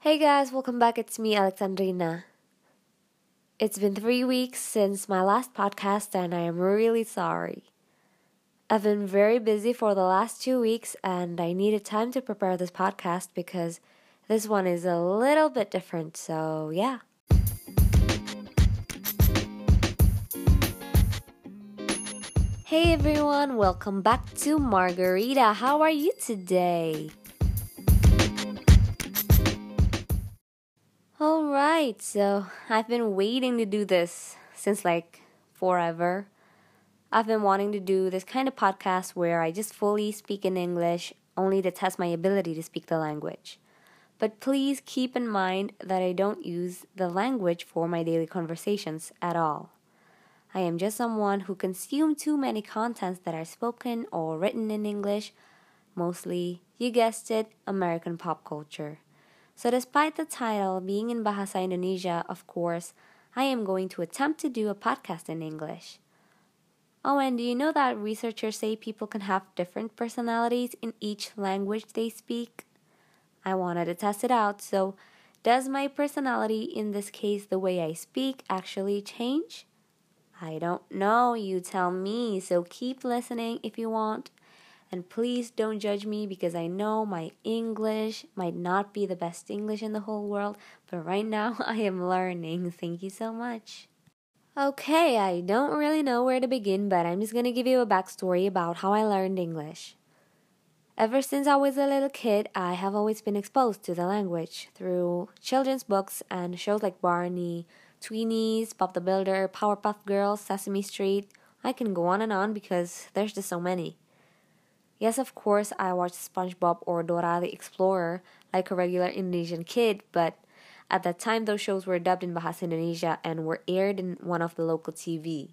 Hey guys, welcome back. It's me, Alexandrina. It's been 3 weeks since my last podcast, and I am really sorry. I've been very busy for the last 2 weeks, and I needed time to prepare this podcast because this one is a little bit different, so yeah. Hey everyone, welcome back to Margarita. How are you today? Alright, so I've been waiting to do this since forever. I've been wanting to do this kind of podcast where I just fully speak in English only to test my ability to speak the language. But please keep in mind that I don't use the language for my daily conversations at all. I am just someone who consumes too many contents that are spoken or written in English, mostly, you guessed it, American pop culture. So despite the title being in Bahasa Indonesia, of course, I am going to attempt to do a podcast in English. Oh, and do you know that researchers say people can have different personalities in each language they speak? I wanted to test it out, so does my personality, in this case the way I speak, actually change? I don't know, you tell me, so keep listening if you want. And please don't judge me because I know my English might not be the best English in the whole world, but right now I am learning. Thank you so much. Okay, I don't really know where to begin, but I'm just gonna give you a backstory about how I learned English. Ever since I was a little kid, I have always been exposed to the language through children's books and shows like Barney, Tweenies, Bob the Builder, Powerpuff Girls, Sesame Street. I can go on and on because there's just so many. Yes, of course, I watched SpongeBob or Dora the Explorer like a regular Indonesian kid, but at that time those shows were dubbed in Bahasa Indonesia and were aired in one of the local TV.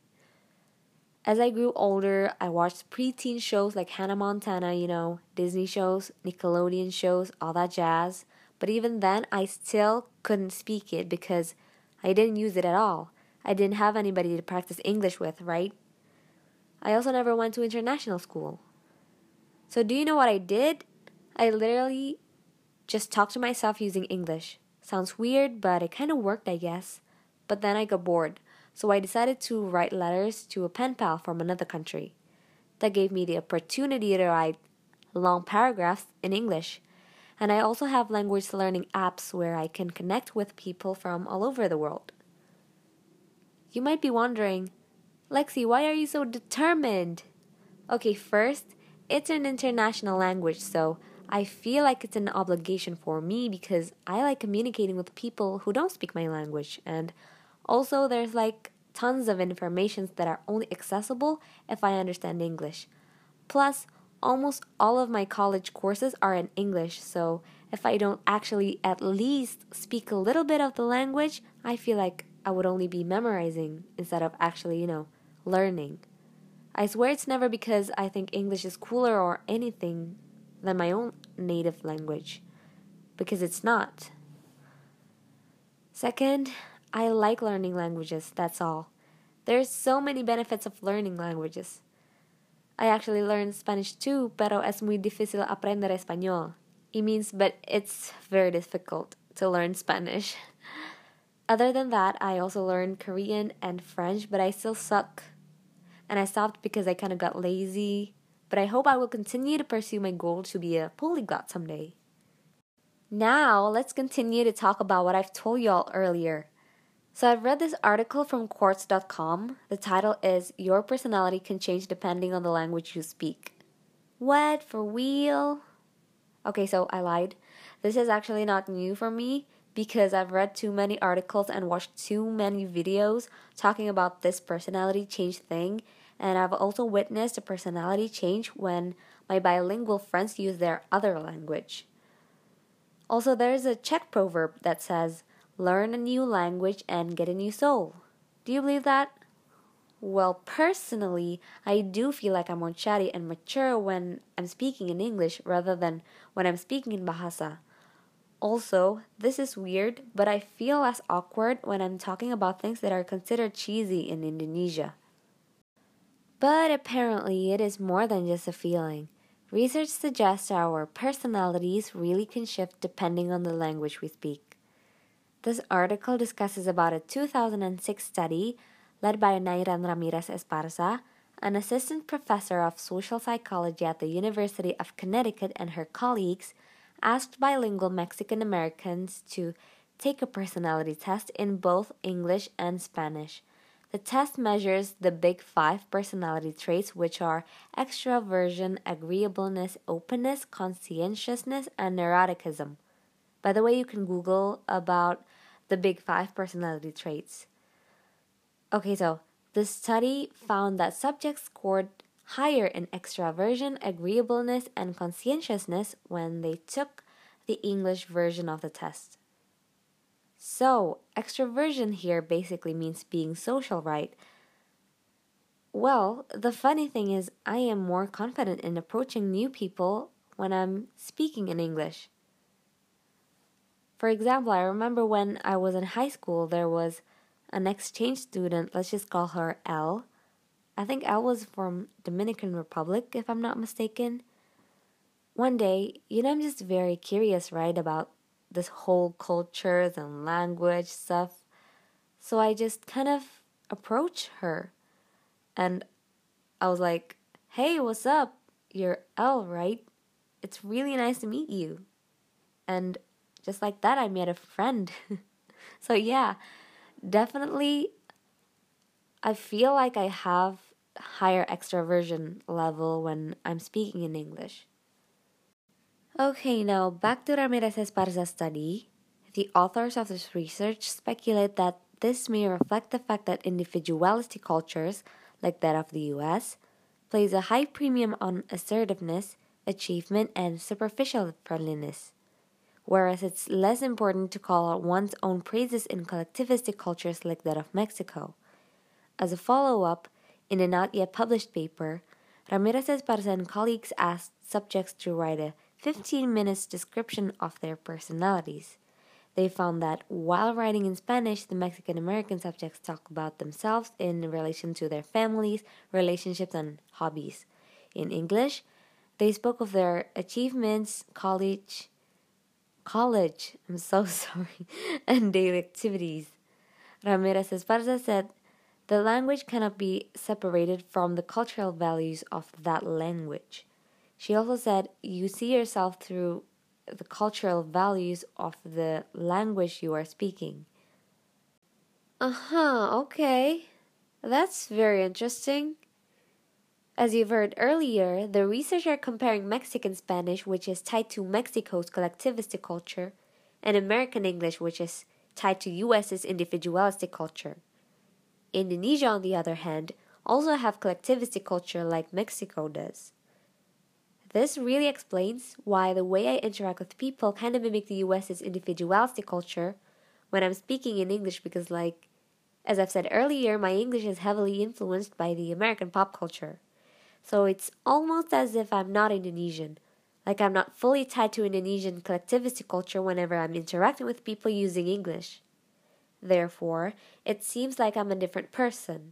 As I grew older, I watched preteen shows like Hannah Montana, Disney shows, Nickelodeon shows, all that jazz. But even then, I still couldn't speak it because I didn't use it at all. I didn't have anybody to practice English with, right? I also never went to international school. So do you know what I did? I literally just talked to myself using English. Sounds weird, but it kind of worked, I guess. But then I got bored, so I decided to write letters to a pen pal from another country. That gave me the opportunity to write long paragraphs in English. And I also have language learning apps where I can connect with people from all over the world. You might be wondering, Lexi, why are you so determined? Okay, first, it's an international language, so I feel like it's an obligation for me because I like communicating with people who don't speak my language. And also, there's tons of information that are only accessible if I understand English. Plus, almost all of my college courses are in English, so if I don't actually at least speak a little bit of the language, I feel like I would only be memorizing instead of actually, learning. I swear it's never because I think English is cooler or anything than my own native language, because it's not. Second, I like learning languages, that's all. There's so many benefits of learning languages. I actually learned Spanish too, pero es muy difícil aprender español. It means, but it's very difficult to learn Spanish. Other than that, I also learned Korean and French, but I still suck. And I stopped because I kind of got lazy. But I hope I will continue to pursue my goal to be a polyglot someday. Now, let's continue to talk about what I've told y'all earlier. So I've read this article from Quartz.com. The title is Your Personality Can Change Depending on the Language You Speak. What? For real? Okay, so I lied. This is actually not new for me because I've read too many articles and watched too many videos talking about this personality change thing, and I've also witnessed a personality change when my bilingual friends use their other language. Also, there's a Czech proverb that says, learn a new language and get a new soul. Do you believe that? Well, personally, I do feel like I'm more chatty and mature when I'm speaking in English rather than when I'm speaking in Bahasa. Also, this is weird, but I feel less awkward when I'm talking about things that are considered cheesy in Indonesia. But apparently, it is more than just a feeling. Research suggests our personalities really can shift depending on the language we speak. This article discusses about a 2006 study led by Nairan Ramirez Esparza, an assistant professor of social psychology at the University of Connecticut, and her colleagues asked bilingual Mexican Americans to take a personality test in both English and Spanish. The test measures the big 5 personality traits, which are extraversion, agreeableness, openness, conscientiousness, and neuroticism. By the way, you can Google about the big 5 personality traits. Okay, so the study found that subjects scored higher in extraversion, agreeableness, and conscientiousness when they took the English version of the test. So, extroversion here basically means being social, right? Well, the funny thing is, I am more confident in approaching new people when I'm speaking in English. For example, I remember when I was in high school, there was an exchange student, let's just call her Elle. I think Elle was from Dominican Republic, if I'm not mistaken. One day, I'm just very curious, right, about this whole cultures and language stuff. So I just kind of approached her. And I was like, "Hey, what's up? You're Elle, right? It's really nice to meet you." And just like that, I made a friend. So yeah, definitely I feel like I have higher extroversion level when I'm speaking in English. Okay, now back to Ramirez Esparza's study. The authors of this research speculate that this may reflect the fact that individualistic cultures, like that of the US, place a high premium on assertiveness, achievement, and superficial friendliness, whereas it's less important to call out one's own praises in collectivistic cultures like that of Mexico. As a follow-up, in a not yet published paper, Ramirez Esparza and colleagues asked subjects to write a 15 minutes description of their personalities. They found that while writing in Spanish, the Mexican American subjects talk about themselves in relation to their families, relationships, and hobbies. In English, they spoke of their achievements, college, I'm so sorry, and daily activities. Ramirez Esparza said, "The language cannot be separated from the cultural values of that language." She also said, "You see yourself through the cultural values of the language you are speaking." Okay. That's very interesting. As you've heard earlier, the researchers are comparing Mexican Spanish, which is tied to Mexico's collectivistic culture, and American English, which is tied to US's individualistic culture. Indonesia, on the other hand, also have collectivistic culture like Mexico does. This really explains why the way I interact with people kind of mimic the US's individualistic culture when I'm speaking in English because, as I've said earlier, my English is heavily influenced by the American pop culture. So it's almost as if I'm not Indonesian. Like I'm not fully tied to Indonesian collectivistic culture whenever I'm interacting with people using English. Therefore, it seems like I'm a different person.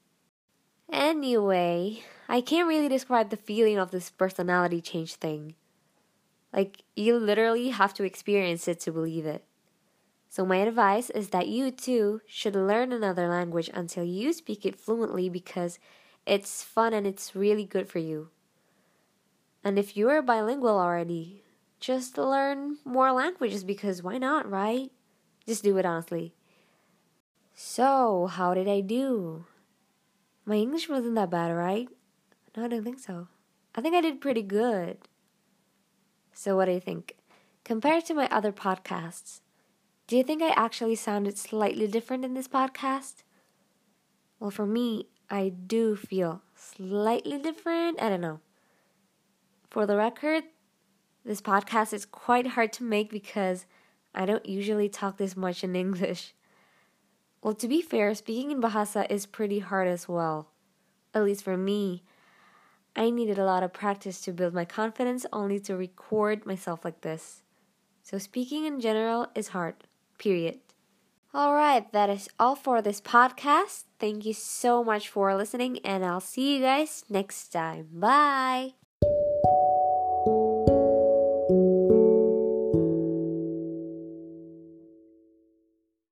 Anyway, I can't really describe the feeling of this personality change thing. You literally have to experience it to believe it. So my advice is that you too should learn another language until you speak it fluently because it's fun and it's really good for you. And if you're bilingual already, just learn more languages because why not, right? Just do it honestly. So, how did I do? My English wasn't that bad, right? No, I don't think so. I think I did pretty good. So what do you think? Compared to my other podcasts, do you think I actually sounded slightly different in this podcast? Well, for me, I do feel slightly different. I don't know. For the record, this podcast is quite hard to make because I don't usually talk this much in English. Well, to be fair, speaking in Bahasa is pretty hard as well. At least for me. I needed a lot of practice to build my confidence only to record myself like this. So speaking in general is hard. Period. Alright, that is all for this podcast. Thank you so much for listening and I'll see you guys next time. Bye!